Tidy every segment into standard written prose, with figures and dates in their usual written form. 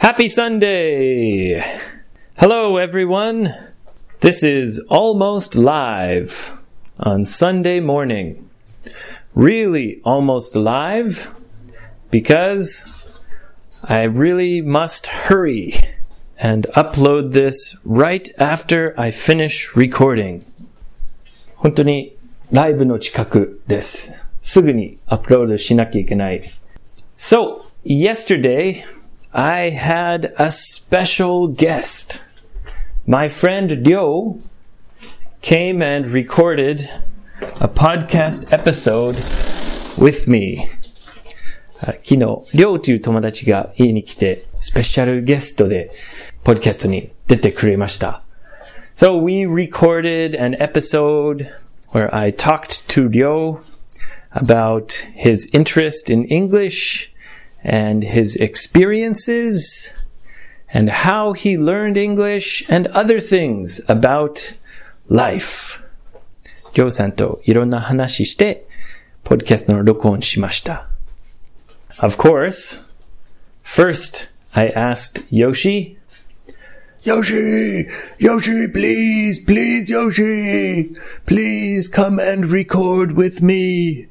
Happy Sunday! Hello everyone! This is almost live on Sunday morning. Really almost live because I really must hurry and upload this right after I finish recording. 本当にライブの近くです。すぐにアップロードしなきゃいけない。So, yesterday, I had a special guest. My friend Ryo came and recorded a podcast episode with me. 昨日、Ryoという友達が家に来て、スペシャルゲストで、ポッドキャストに出てくれました。So we recorded an episode where I talked to Ryo about his interest in English and his experiences and how he learned English and other things about life. りょうさんといろんな話して、ポッドキャストの録音しました。Of course, first I asked Yoshi, Yoshi, please, Yoshi, please come and record with me.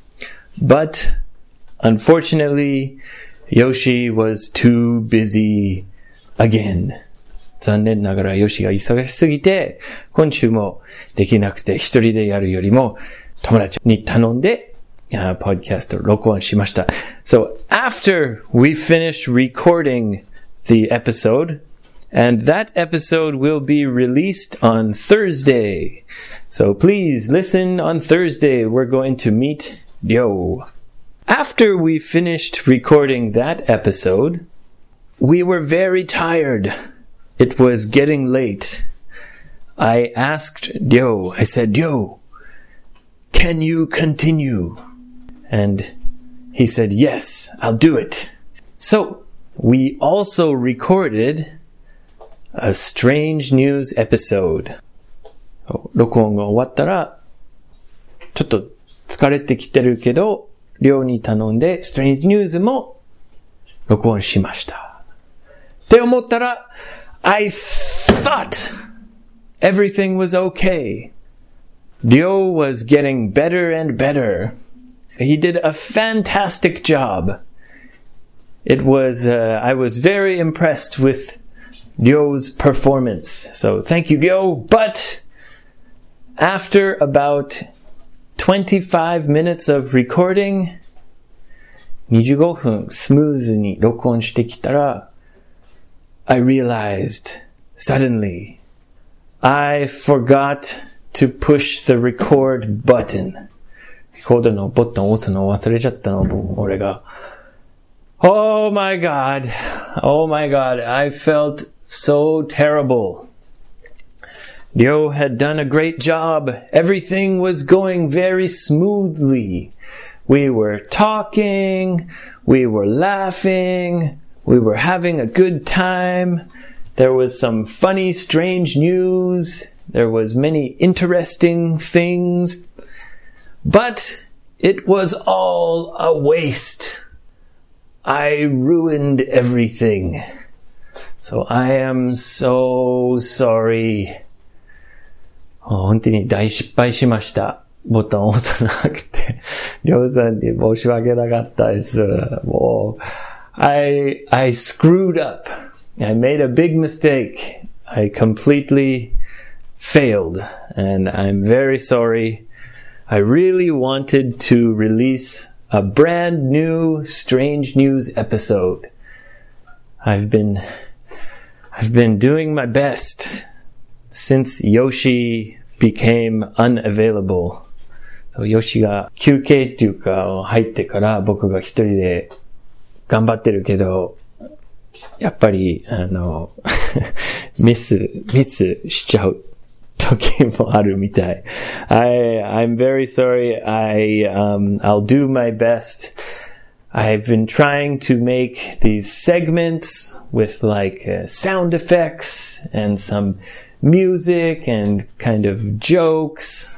But unfortunately, Yoshi was too busy again. 残念ながらヨシが忙しすぎて、今週もできなくて一人でやるよりも友達に頼んで、ポッドキャスト録音しました。So after we finished recording the episode, and that episode will be released on Thursday. So please listen on Thursday. We're going to meet Ryo. After we finished recording that episode, we were very tired. It was getting late. I asked Ryo, I said, Ryo, can you continue? And he said, yes, I'll do it. So we also recorded a strange news episode. 録音が終わったら、ちょっと疲れてきてるけど、Ryoに頼んで、Strange News も録音しました。って思ったら、I thought everything was okay. Ryo was getting better and better. He did a fantastic job. I was very impressed with Ryo's performance. So thank you, Ryo. But after about 25 minutes of recording, 25分スムーズに録音してきたら、I realized suddenly I forgot to push the record button. レコードのボタンを押すのを忘れちゃったの、俺が。Oh my God. I felt so terrible. Ryo had done a great job. Everything was going very smoothly. We were talking, we were laughing, we were having a good time. There was some funny, strange news. There was many interesting things. But it was all a waste. I ruined everything. So I am so sorry. 本当に大失敗しました。ボタンを押さなくて。りょうさんに申し訳なかったです。もう、I screwed up. I made a big mistake. I completely failed. And I'm very sorry. I really wanted to release a brand new Strange News episode. I've been doing my best since Yoshi became unavailable. So Yoshi が休憩っていうか入ってから僕が一人で頑張ってるけど、やっぱりミスしちゃう時もあるみたい。I'm very sorry. I'll do my best. I've been trying to make these segments with like sound effects and some music and kind of jokes.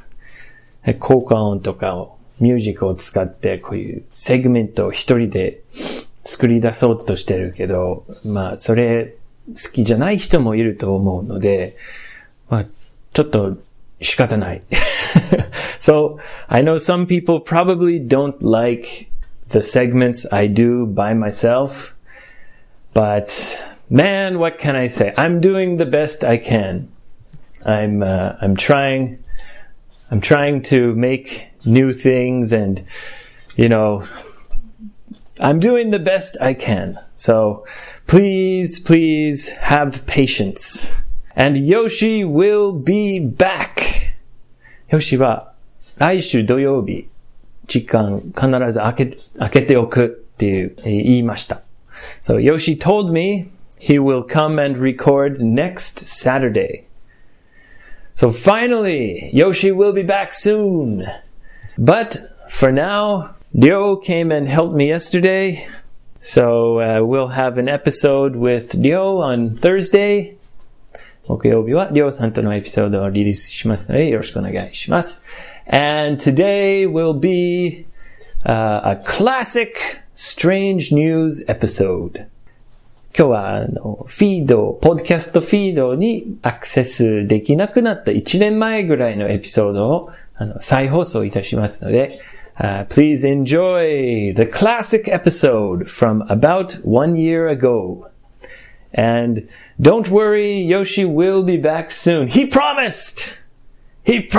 効果音とかをミュージックを使ってこういうセグメントを一人で作り出そうとしてるけど、まあ、それ好きじゃない人もいると思うので、まあ、ちょっと仕方ない。So, I know some people probably don't like the segments I do by myself, but man, what can I say? I'm doing the best I can. I'm trying to make new things and, you know, I'm doing the best I can. So, please have patience. And Yoshi will be back. Yoshi は来週土曜日、時間必ず開けておくって言いました。So Yoshi told me he will come and record next Saturday. So finally, Yoshi will be back soon. But for now, Ryo came and helped me yesterday. So we'll have an episode with Ryo on Thursday. 木曜日はRyoさんとのエピソードをリリースしますのでよろしくお願いします。And today will be a classic strange news episode. 今日はポッドキャストフィードにアクセスできなくなった1年前ぐらいのエピソードを再放送いたしますので、please enjoy the classic episode from about 1 year ago. And don't worry, Yoshi will be back soon. He promised! Yoshi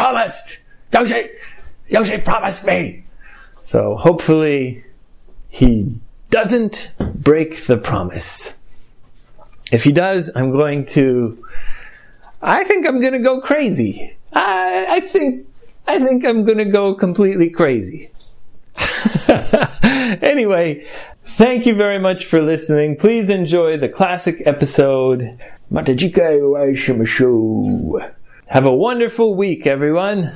promised me! So hopefully he doesn't break the promise. If he does, I think I'm going to go crazy. I think I'm going to go completely crazy. Anyway, thank you very much for listening. Please enjoy the classic episode. また次回お会いしましょう. Have a wonderful week, everyone.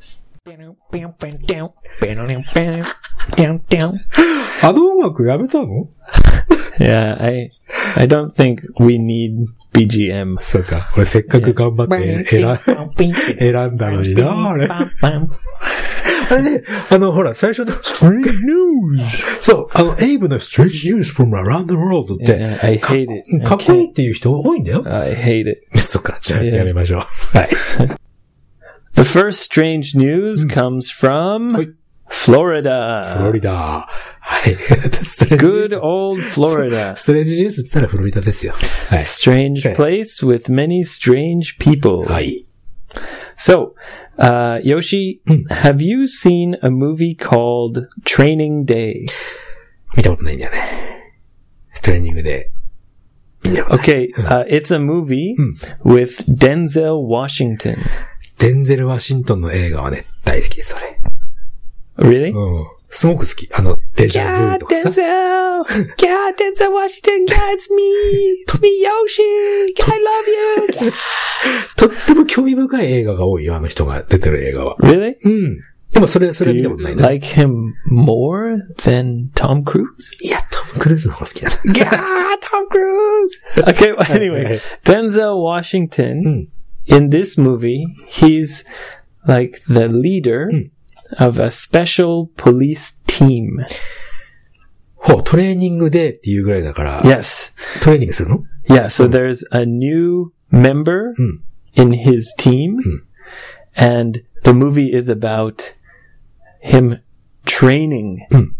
あの音楽やめたの？ Yeah, I don't think we need BGM. そうか。俺せっかく頑張って選んだのにな、あれ。あれね、ほら、最初の Strange News! そう、エイブの Strange News from around the world って、 Yeah, I hate it. かっこいいっていう人多いんだよ。 I hate it. そっか、じゃあやめましょう。はい。 The first strange news comes from Florida. フロリダ。はい。 Good old Florida. ストレンジニュースって言ったらフロリダですよ。はい。 Strange place with many strange people. はい。 So, Yoshi, have you seen a movie called Training Day? 見たことないんだよね。トレーニングで。 Okay, it's a movie with Denzel Washington. デンゼル・ワシントンの映画はね、大好きです、それ。 Really? うん。すごく好き。デジャブ Yeah, とかさ。 Denzel! Yeah, Denzel Washington! Yeah, it's me! It's me, Yoshi! I love you! Yeah. とっても興味深い映画が多いよ、あの人が出てる映画は。 Really? うん。でもそれは見 Do た you ことないんだ。 like him more than Tom Cruise? いや、トム・クルーズの方が好きだな。 Yeah, Tom Cruise! Okay, well, anyway, Denzel Washington, in this movie, he's like the leader of a special police team. ほう、トレーニングデーっていうぐらいだから、 Yes. トレーニングするの？ Yeah, so there's a new member in his team, and the movie is about him training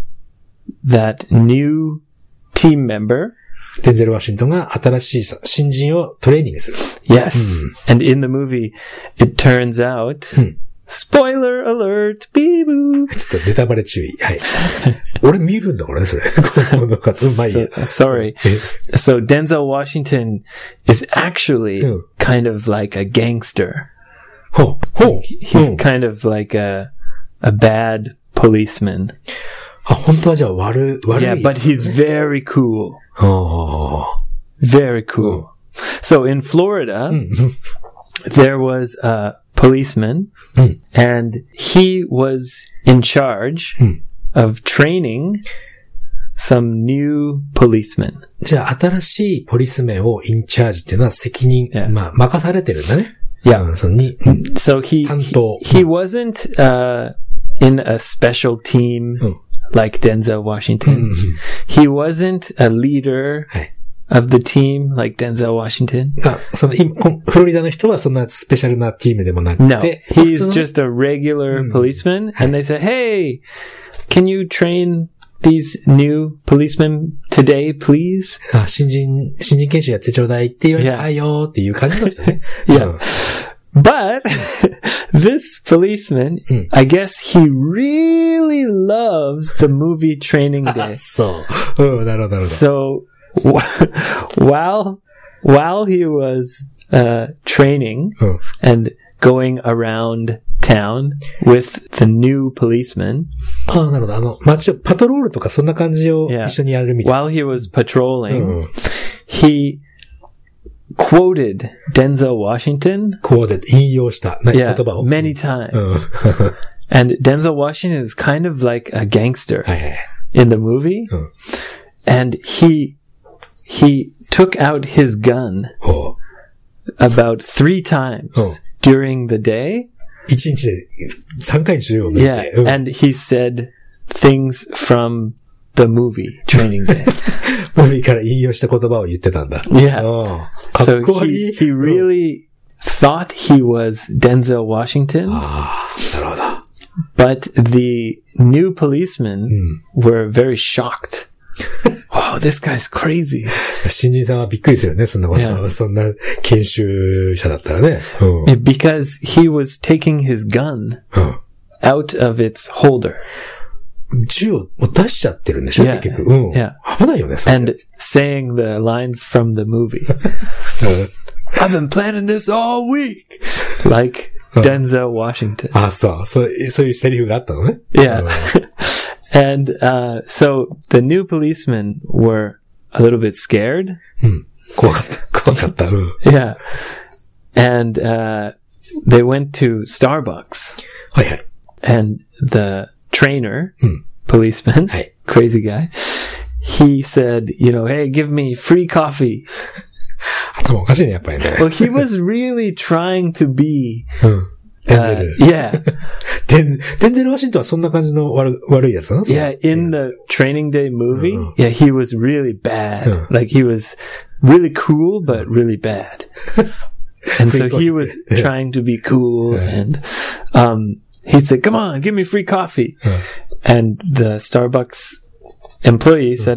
that new team member. デンゼル・ワシントンが新しい新人をトレーニングする。 Yes. And in the movie, it turns out, spoiler alert, beep-boop. ちょっとネタバレ注意。はい。俺見るんだからね、それ。まあいいや。 Sorry. So Denzel Washington is actually kind of like a gangster. ほう。 He's kind of like a bad policeman. あ、本当はじゃあ悪い。 Yeah, but he's very cool. ほう。 Very cool. So in Florida, there was a policeman, and he was in charge of training some new policemen. じゃあ新しいポリスメンをインチャージっていうのは責任、まあ任されてるんだね。 Yeah. そのに、 So he wasn't in a special team like Denzel Washington. He wasn't a leader はい。 of the team like Denzel Washington. その今、フロリダの人はそんなスペシャルなチームでもなく No, て、 he's just a regular policeman. And they said, hey, can you train these new policemen today, please? 新人研修やってちょうだいって言われて、 Yeah. はいよーっていう感じの人ね。 Yeah. But this policeman, I guess he really loves the movie Training あ Day. そう。なるほど、なるほど。 So while he was training うん。 and going around town with the new policeman, なるほど。街を、パトロールとかそんな感じを Yeah. 一緒にやるみたいな。 while he was patrolling, うん。 he quoted Denzel Washington, こうで引用した言 yeah, 葉を。 many times. うん。 And Denzel Washington is kind of like a gangster はいはい。 in the movie. うん。 And he took out his gun ほう。 about 3 times Oh. during the day. 一日で3回銃を抜い Yeah. て。うん。 And he said things from the movie Training Day. ムービーから引用した言葉を言ってたんだ。 Yeah. うん。か So っこいい。 he うん really thought he was Denzel Washington, ああ、なるほど。 but the new policemen were very shocked. Wow, this guy's crazy. 新人さんはびっくりするよね。そんなこと、 Yeah. そんな研修者だったらね。うん。 Because he was taking his gun うん。 out of its holder 銃を出しちゃってるんでしょ、 Yeah. 結局。うん。 Yeah. 危ないよね、それ。 and saying the lines from the movie. うん I've been planning this all week. Like Denzel Washington. あ、そういうセリフがあったのね。 Yeah. And so the new policemen were a little bit scared. 怖かった。うん。 Yeah. And they went to Starbucks. はいはい。 And the trainer, policeman, Hey. crazy guy, he said, hey, give me free coffee. 頭おかしいね、やっぱりね。 Well, he was really trying to be, うん。デンゼル。 yeah, デンゼル・ワシントンはそんな感じの悪いやつなの yeah, in the Training Day movie, Oh. yeah, he was really bad. Oh. Like he was really cool, but really bad. And so he was trying to be cool and, he said, come on, give me free coffee. And the Starbucks employee said,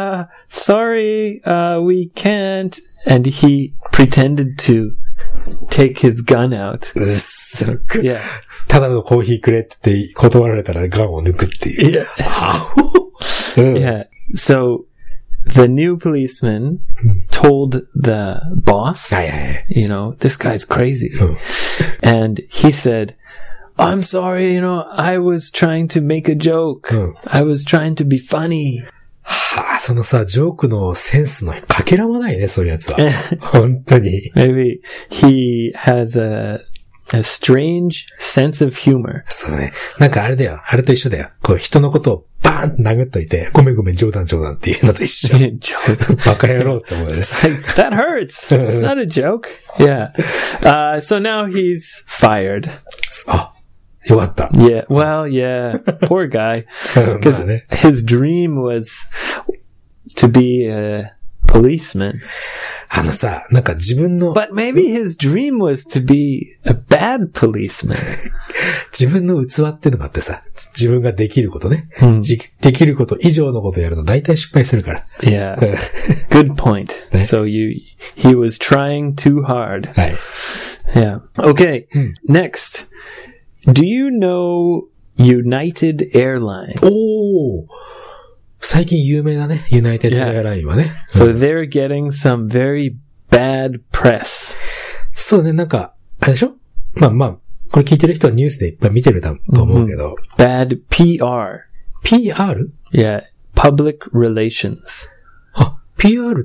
sorry, we can't. And he pretended to take his gun out. うっそ。 Yeah. ただのコーヒーくれって言って断られたらガンを抜くっていう。うん Yeah. So the new policeman told the boss, はいはいはい。 this guy's crazy. うん And he said, I'm sorry, I was trying to make a joke. Oh. I was trying to be funny. はあ、そのさ、ジョークのセンスのかけらもないね、そういうやつは。本当に。 Maybe he has a strange sense of humor. そうね。なんかあれだよ。あれと一緒だよ。こう人のことをバーンって殴っといて、ごめん冗談っていうのと一緒。 Joke. バカ野郎って思うよね。 Like, that hurts. It's not a joke. Yeah. So now he's fired. あ、よかった。 Yeah. Well, yeah. Poor guy. ま Because あね。 his dream was to be a policeman. さ、なんか自分の、 But maybe his dream was to be a bad policeman. 自分の器っていうのがあってさ、自分ができることね。 うんできること以上のことやると大体失敗するから。 Yeah. Good point. So he was trying too hard. はい。 Yeah. Okay. Next. Do you know United Airlines? おー最近有名だね。ユナイテッドエアラインはね。 So they're getting some very bad press. そうね、なんか、あれでしょまあ、これ聞いてる人はニュースでいっぱい見てると思うけど。 Bad PR. PR? Yeah. Public relations. あ、PR って、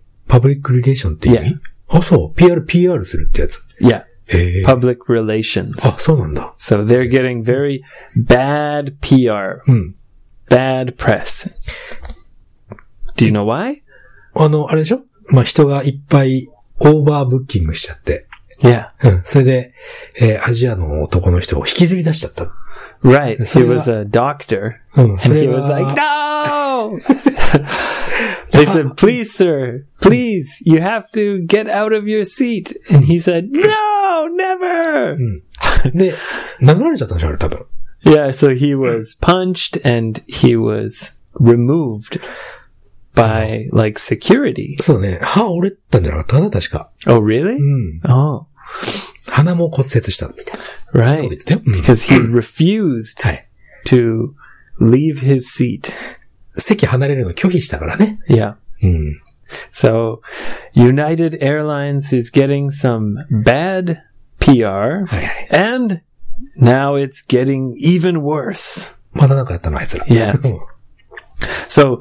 パブリックリレーションって意味 Yeah. あ、そう。PR するってやつ。 Yeah. へえ。 Public relations. あ、そうなんだ。 So they're getting very bad PR. うん。 Bad press. Do you know why? あれでしょまあ、人がいっぱいオーバーブッキングしちゃって。 Yeah. うん。それで、アジアの男の人を引きずり出しちゃった。 Right. He それは was a doctor. そ And れ he was は like, no! They said, please, sir, please, you have to get out of your seat. And he said, no, never! で、殴られちゃったんでしょ、あれ多分。 Yeah, so he was punched and he was removed by, like, security. そうね、歯折れたんじゃなかったかな、確か。 Oh, really? Oh, 鼻も骨折したみたいな。 right. そう言ってたよ。 Because he refused はい。 to leave his seat. 席離れるの拒否したからね。 Yeah. うん。 So, United Airlines is getting some bad PR, はいはい。 and now it's getting even worse. またなんかやったの、あいつら。 Yeah. So,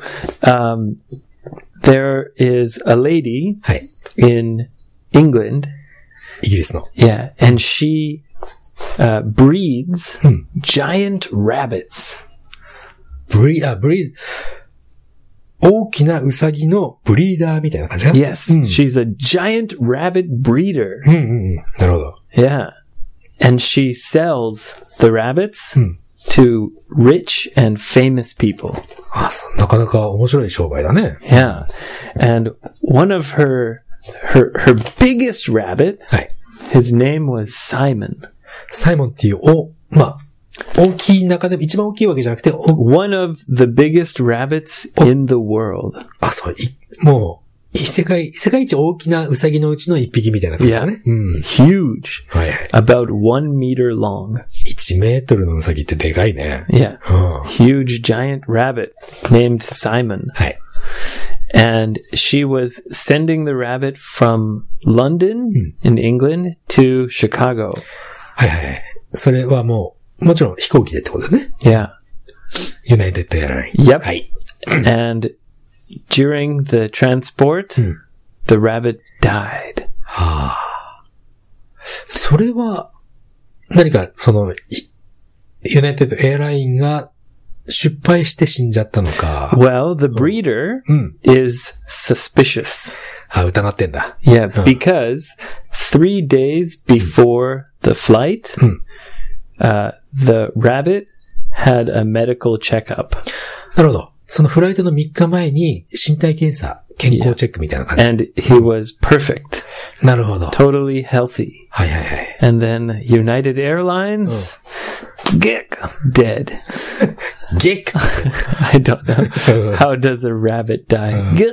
there is a lady はい。 in England, イギリスの。 yeah, and she breeds giant rabbits. ブリーズ、大きなウサギのブリーダーみたいな感じかな。 Yes, she's a giant rabbit breeder. なるほど。 Yeah. And she sells the rabbits to rich and famous people. あ、そう、なかなか面白い商売だね。 Yeah. And one of her biggest rabbit, はい。 his name was Simon. サイモンっていう、大きい中でも一番大きいわけじゃなくて、 One of the biggest rabbits in the world. そう、もう、世界一大きなウサギのうちの一匹みたいな感じだね。 Huge. はいはい。 About 1 meter long. 1メートルのウサギってでかいね。 Yeah. Huge giant rabbit named Simon. はい。 And she was sending the rabbit from London in England to Chicago. はいはいはい。それはもちろん飛行機でってことだね。 Yeah. ユナイテッドエアライン。 Yep. はい。 And during the transport, the rabbit died. それは、何か、ユナイテッドエアラインが失敗して死んじゃったのか。 Well, the breeder is suspicious. 疑ってんだ。 Yeah, because 3 days before the flight, the rabbit had a medical checkup. なるほど。そのフライトの3日前に身体検査、健康チェックみたいな感じ。 And he was perfect. なるほど。 Totally healthy. はいはいはい。 And then United Airlines, gick, dead. ゲック I don't know. How does a rabbit die? Gick.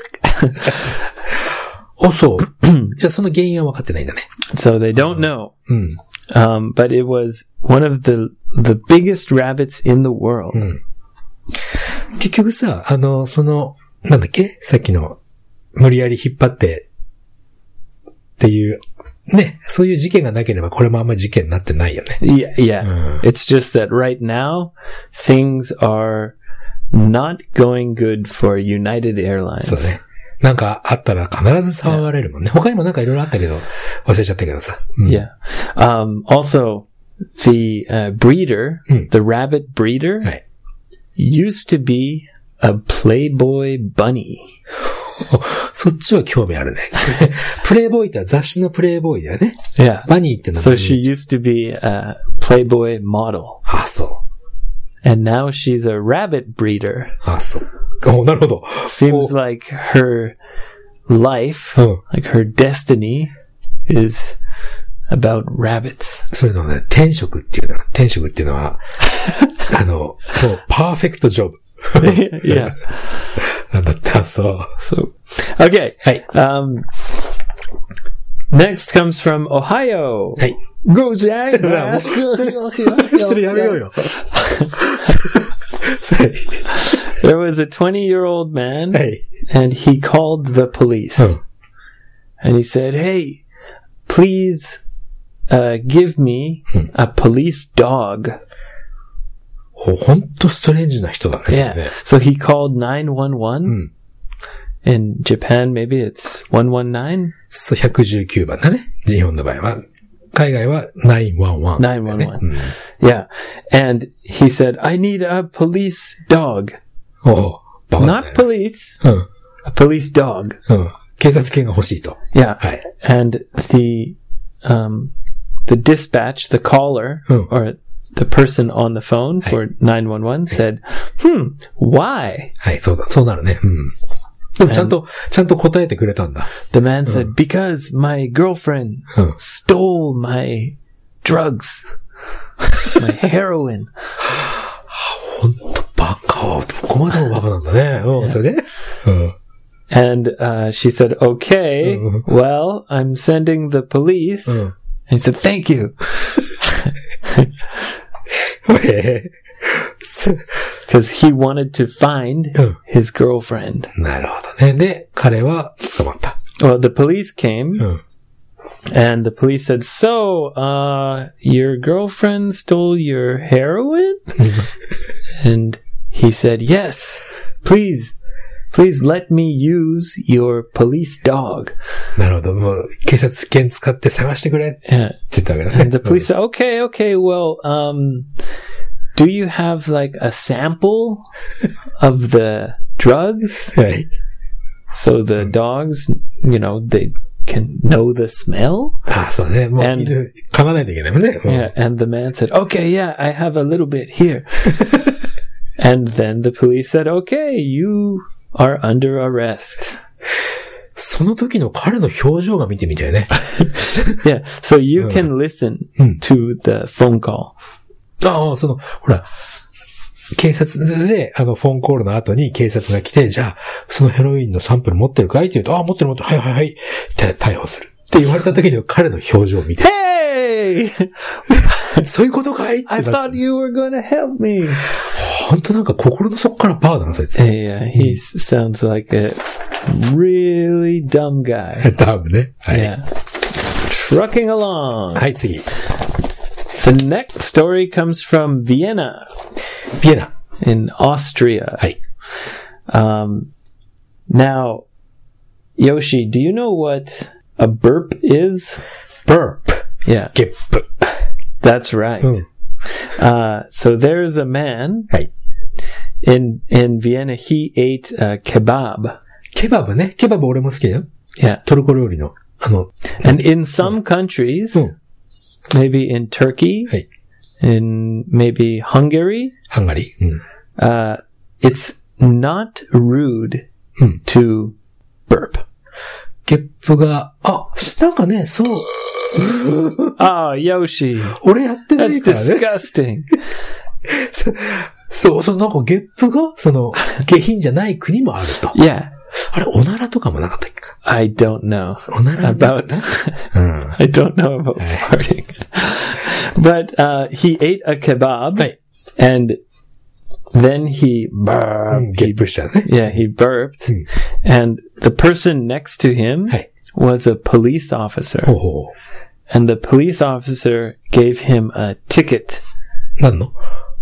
そう。じゃあその原因は分かってないんだね。 So they don't know. But it was one of the biggest rabbits in the world. 結局さ、なんだっけさっきの、無理やり引っ張って、っていう、ね、そういう事件がなければこれもあんまり事件になってないよね。 Yeah. It's just that right now, things are not going good for United Airlines. そうね。なんかあったら必ず騒がれるもんね。他にもなんかいろいろあったけど、忘れちゃったけどさ。 Yeah. Also, the breeder, the rabbit breeder, はい。 used to be a Playboy bunny. そっちは興味あるね。プレイボーイって雑誌のプレイボーイだよね。 Yeah. バニーってのは So she used to be a Playboy model. そ And now she's a rabbit breeder. う。そう。なるほど。 Seems like her life, like her destiny, is about rabbits. そういうのね、転職っていうのは、もう、パーフェクトジョブ。 Yeah. なんだって、そう。 So, okay. はい。 Next comes from Ohio. はい。 Go, Jack. それやめようよ。 There was a 20-year-old man, はい。 and he called the police. And he said, hey, please give me a police dog. ほんとストレンジな人だね。 Yeah. ね So he called 911. In Japan, maybe it's 119? そう、119番だね。日本の場合は。海外は911。 911. Yeah. And he said, I need a police dog. バカだね Not police. A police dog. 警察犬が欲しいと。 Yeah. はい。 And the dispatch, the caller, or the person on the phone for 911 said, why? はい、そうなるね。うん。でもちゃんと答えてくれたんだ。 The man said, because my girlfriend stole my drugs, my heroin. ほんとバカ。どこまでもバカなんだね。うん、それで And she said, okay, well, I'm sending the police. And he said, thank you. Because he wanted to find his girlfriend. なるほどね。で、彼は捕まった。 Well, the police came, and the police said, so, your girlfriend stole your heroin? And he said, yes, please let me use your police dog. なるほど。もう、警察犬使って探してくれって言ったわけだね。 And the police said, okay, well, do you have like a sample of the drugs? はい。 So the dogs, they can know the smell? ああ、そうね。もう犬噛まないといけないもんね。 Yeah, and the man said, okay, yeah, I have a little bit here. And then the police said, okay, you are under arrest. その時の彼の表情が見てみたいね。 Yeah, so you can listen to the phone call. ああ、ほら、警察で、フォンコールの後に警察が来て、じゃあ、そのヘロインのサンプル持ってるかいって言うと、ああ、持ってる、はい、逮捕する。って言われた時の彼の表情を見て。 Hey! そういうことかいって I thought you were gonna help me. 本当なんか心の底からバーだな、そいつ。 Yeah, he sounds like a really dumb guy. ダムね。はい。 Yeah. Trucking along. はい、次。 The next story comes from Vienna. Vienna. In Austria. はい。 Now, Yoshi, do you know what a burp is? Burp. Yeah. ゲップ。 That's right. So there's a man はい。 in Vienna. He ate a kebab. ケバブね。ケバブ俺も好きだよ。 Yeah. トルコ料理の。 And in some countries, maybe in Turkey, はい。 in maybe Hungary, ハンガリー。 it's not rude to burp. ゲップが、なんかね、そう。 Ah, Yoshi. 俺やってない That's からね。 disgusting. そう、なんかゲップが、下品じゃない国もあると。 Yeah. あれ、おならとかもなかったっけか。 I don't know おなら about, I don't know about farting. But, he ate a kebab はい。 and then he burped. ゲップしたね。 Yeah, he burped. And the person next to him はい。 was a police officer. ほう。 And the police officer gave him a ticket. 何の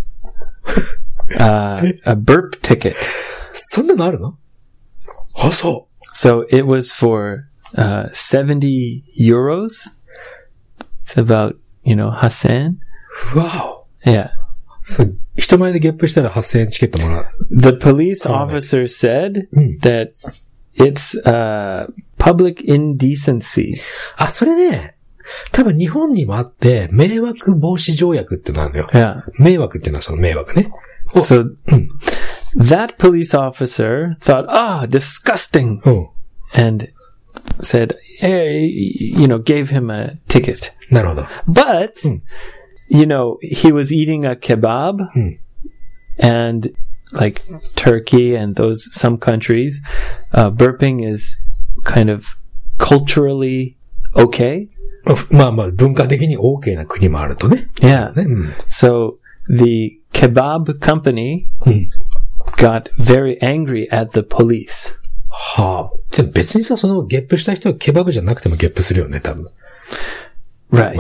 A burp ticket. そんなのあるのあ、そう。 So it was for 70 euros. It's about, 8,000. わお。 Yeah. そう、人前でゲップしたら8000円チケットもらう。 The police officer said that it's public indecency. あ、それね、多分日本にもあって、迷惑防止条約ってのあるのよ。 Yeah. 迷惑っていうのはその迷惑ね。 So that police officer thought, disgusting. And said, hey, gave him a ticket. なるほど。 But, he was eating a kebab and like Turkey and some countries, burping is kind of culturally okay. まあまあ、文化的に OK な国もあるとね。 Yeah. ね。 So the kebab company got very angry at the police. はあ。じゃあ別にさ、そのゲップした人はケバブじゃなくてもゲップするよね、多分。 Right.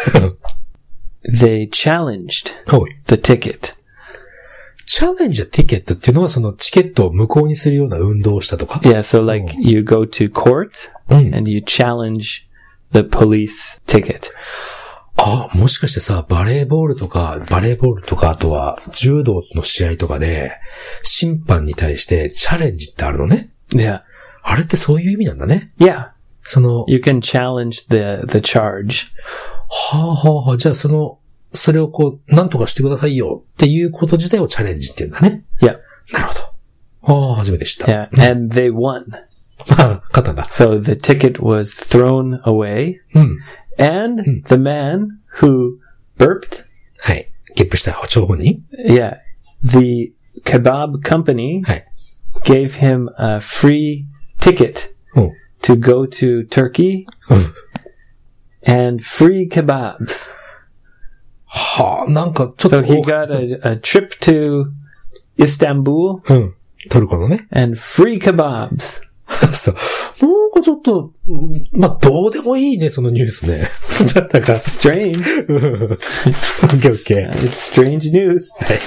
They challenged おい。 the ticket. チャレンジャーティケットっていうのはそのチケットを無効にするような運動をしたとか Yeah, so like you go to court and you challenge the police ticket. あ、もしかしてさ、バレーボールとか、あとは柔道の試合とかで、審判に対してチャレンジってあるのね。 Yeah. あれってそういう意味なんだね。 Yeah. その、 You can challenge the charge. はあはあはあ、じゃあその、 それをこう、なんとかしてくださいよっていうこと自体をチャレンジっていうんだね。 Yeah. なるほど。ああ、初めて知った。 Yeah. And they won. ああ、勝ったんだ。 So the ticket was thrown away. うん。 And the man who burped. はい。ゲップした張本人 Yeah. The kebab company はい。 gave him a free ticket うん。 to go to Turkey うん。 and free kebabs. はあ、なんかちょっと。 So he got a trip to Istanbul うん。トルコのね。 and free kebabs. そう。なんかちょっと、まあ、どうでもいいね、そのニュースね。だったか。 Strange. オッケーオッケー。 It's strange news.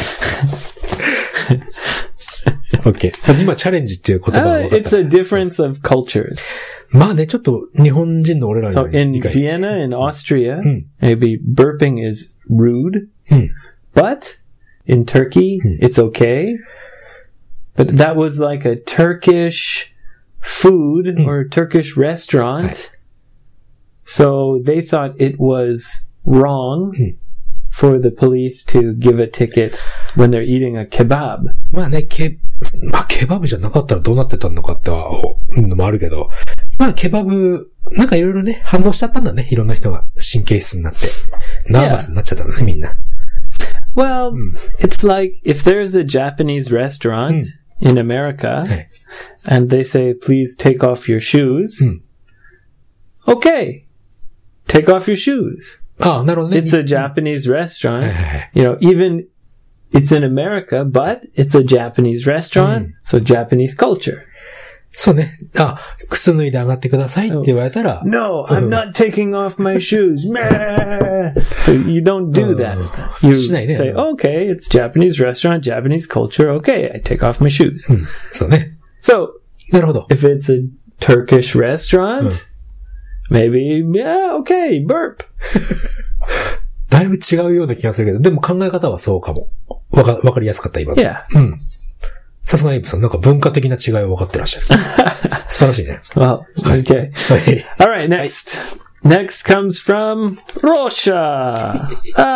オッケー。今、チャレンジっていう言葉が分かっ It's た。 a difference of cultures. まあね、ちょっと日本人の俺らに So は in 理解。 Vienna, in Austria, うん。 maybe burping is rude, うん。 but in Turkey, it's okay. But that was like a Turkish food or Turkish restaurant. So they thought it was wrong for the police to give a ticket when they're eating a kebab. まあね、ケバブじゃなかったらどうなってたのかっては、のもあるけど、まあケバブ、なんかいろいろね、反応しちゃったんだね。いろんな人が神経質になって。ナーバスになっちゃったんだね、みんな。 Well, it's like if there's a Japanese restaurant in America はい。 and they say, please take off your shoes. Okay. Take off your shoes. ああ、なるほどね。 It's a Japanese restaurant. はいはいはい。 You know, even it's in America, but it's a Japanese restaurant. So Japanese culture. そうね。あ、靴脱いで上がってくださいって言われたら、 No, I'm not taking off my shoes. Meh. So you don't do that. You しないね。 say, okay, it's Japanese restaurant, Japanese culture. Okay, I take off my shoes. そうね。 So なるほど。 if it's a Turkish restaurant, maybe, yeah, okay, burp. だいぶ違うような気がするけど、でも考え方はそうかも。わかりやすかった、今の。 Yeah. さすがエイブさん、なんか文化的な違いを分かってらっしゃる。素晴らしいね。 Well, okay. はい。 All right, next. Next comes from Russia.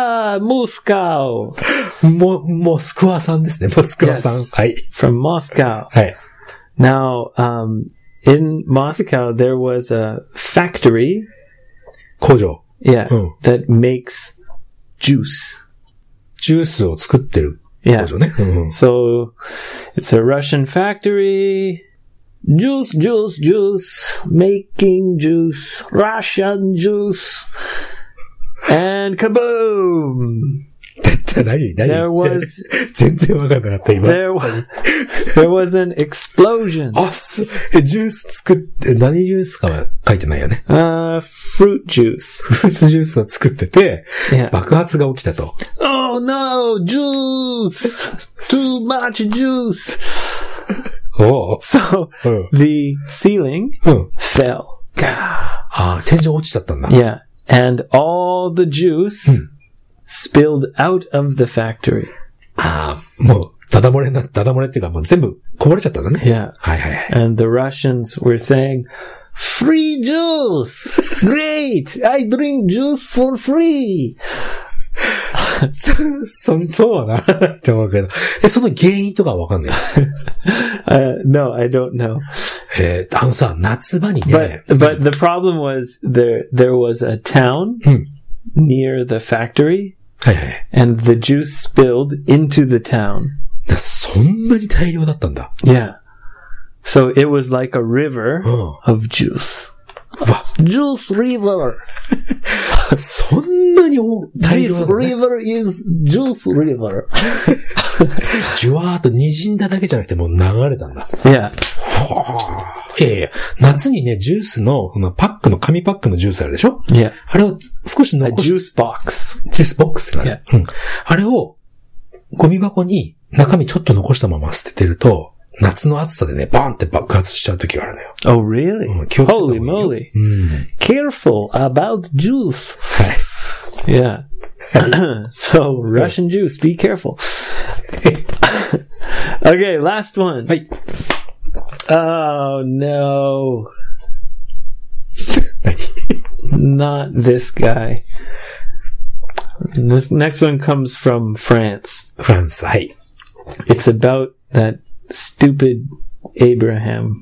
Moscow. モスクワさんですね。モスクワさん。 Yes. はい。 From Moscow. はい。 Now, in Moscow, there was a factory, 工場。 yeah, Oh. that makes juice. ジュースを作ってる Yeah. 工場ね。うんうん。 So, it's a Russian factory. Juice, juice, juice. Making juice. Russian juice. And kaboom! じゃあ何 There was 全然わかんなかった、今。 there was an explosion. あ、ジュース作って、何ジュースかは書いてないよね。 Fruit juice. フルーツジュースを作ってて、 Yeah. 爆発が起きたと。 Oh no, juice! Too much juice! おう So うん。 the ceiling うん。 fell. Gah. ああ、天井落ちちゃったんだ。 Yeah. And all the juice spilled out of the factory. ああ、もう、ダダ漏れっていうかもう全部こぼれちゃったんだね。 Yeah. はいはいはい。 And the Russians were saying, free juice! Great! I drink juice for free! そうはならないと思うけど。その原因とかはわかんない。 No, I don't know. さ、夏場にね。 But the problem was there was a town near the factory はいはい。 and the juice spilled into the town. そんなに大量だったんだ。 Yeah. So it was like a river Oh. of juice. うわ、 Juice river. そんなに大量 This なんだね。 river is juice river. じゅわーっと滲んだだけじゃなくてもう流れたんだ。 Yeah. いやいや、夏にね、ジュースの、紙パックのジュースあるでしょ Yeah. あれを少し A 残し juice box. ジュースボックスがある。うん。あれを、ゴミ箱に中身ちょっと残したまま捨ててると、夏の暑さでね、バーンって爆発しちゃう時があるのよ。 Oh, really? 気をつけた方がい Holy いよ moly. うん。 Careful about juice. はい。 Yeah. So, Russian juice, be careful. Okay, last one. はい。 Oh, no. 何 Not this guy. This next one comes from France. フランス、はい。 It's about that stupid Abraham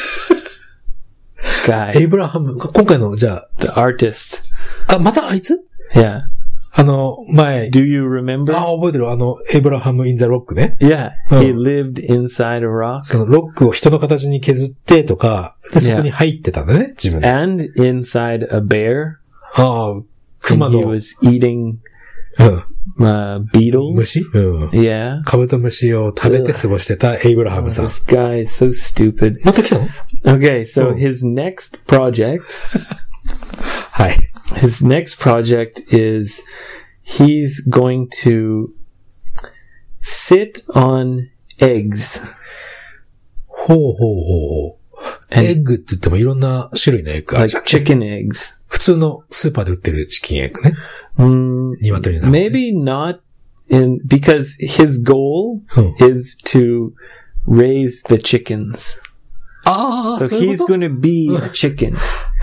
エ guy, イブラハム、今回の、じゃ the artist. あ、またあいつ Yeah. 前、 Do you remember? 覚えてるエイブラハム・イン・ザ・ロックね。 Yeah. He lived inside a rock そのロックを人の形に削ってとか、で、そこに入ってたんだね、自分で。 and inside a bear. 熊 And he の、 was eating うん、 beetles. 虫うん。 Yeah. カブトムシを食べて過ごしてたエイブラハムさん。 This guy is so stupid. また来たの Okay, so Oh. his next project はい。 his next project is he's going to sit on eggs. ほうほうほうほう。 And エッグって言ってもいろんな種類のエッグある like じゃん。 chicken eggs. 普通のスーパーで売ってるチキンエッグね。 Mm, 鶏の卵ね。 maybe not in because his goal うん。 is to raise the chickens. ああ、 So そういう he's こと going to be a chicken.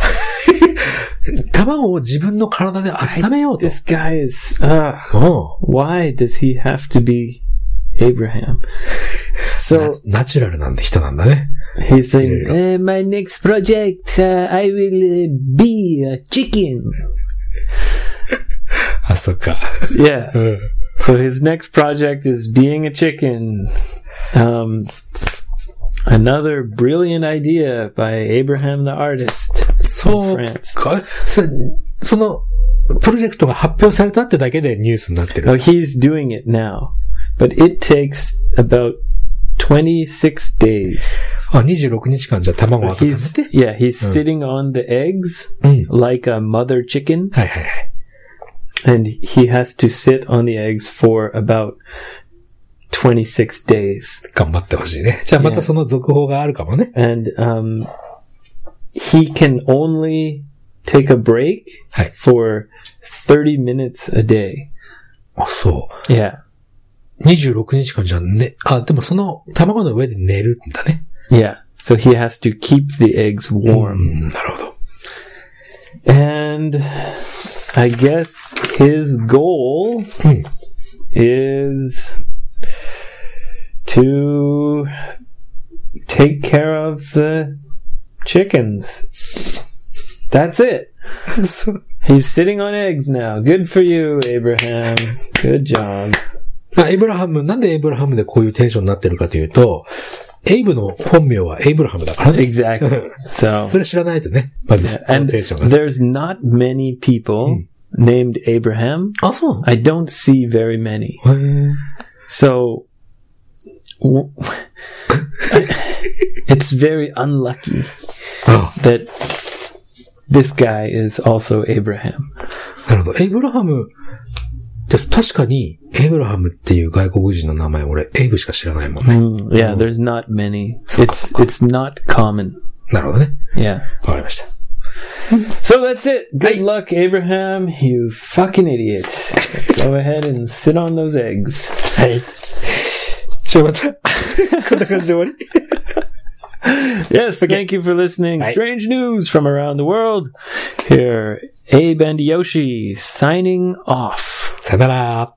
卵を自分の体で温めようと。 This guy is うん。 why does he have to be Abraham? So ナチュラルなんで人なんだね。 he's saying, my next project, I will be a chicken. あ、そっか。 Yeah. うん。 So his next project is being a chicken. Another brilliant idea by Abraham the artist そ in う France. か。その、プロジェクトが発表されたってだけでニュースになってる。 Oh, he's doing it now. But it takes about 26 days. 26日間じゃ卵を温め He's て。 yeah, he's sitting on the eggs うん。 like a mother chicken, はいはいはい。 and he has to sit on the eggs for about 26 days. 頑張ってほしいね。じゃあまたその続報があるかもね。 And he can only take a break はい。 for 30 minutes a day. あ、そ Yeah. う。26日間じゃね、でもその卵の上で寝るんだね。 Yeah. So he has to keep the eggs う warm. ん、なるほど。 And I guess his goal うん。 is to take care of the chickens. That's it. そう。 He's sitting on eggs now. Good for you, Abraham. Good job. まあ、エイブラハム、なんでエイブラハムでこういうテンションになってるかというと、エイブの本名はエイブラハムだからね。 Exactly. そ So, れ知らないとね。まず、この and テンションが。 there's not many people named Abraham. あ、そうなの I don't see very many. へー So, it's very unlucky あ that this guy is also Abraham. なるほど。エイブラハム、で確かに、エイブラハムっていう外国人の名前、俺、エイブしか知らないもんね。 Yeah, there's not many. It's not common. なるほどね。 Yeah. わかりました。 So that's it. Good luck, Abraham. You fucking idiot. Go ahead and sit on those eggs. はい。また、こんな感じで終わり Yes, thank you for listening. Strange news from around the world. Here, Abe and Yoshi signing off. さよなら。